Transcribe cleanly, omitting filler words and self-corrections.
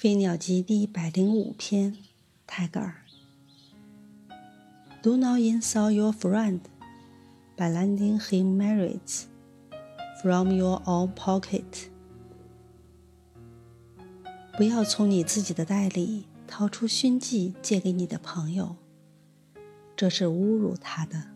飞鸟集第105篇，泰戈尔。Do not insult your friend by lending him merits from your own pocket. 不要从你自己的袋里掏出勋绩借给你的朋友，这是侮辱他的。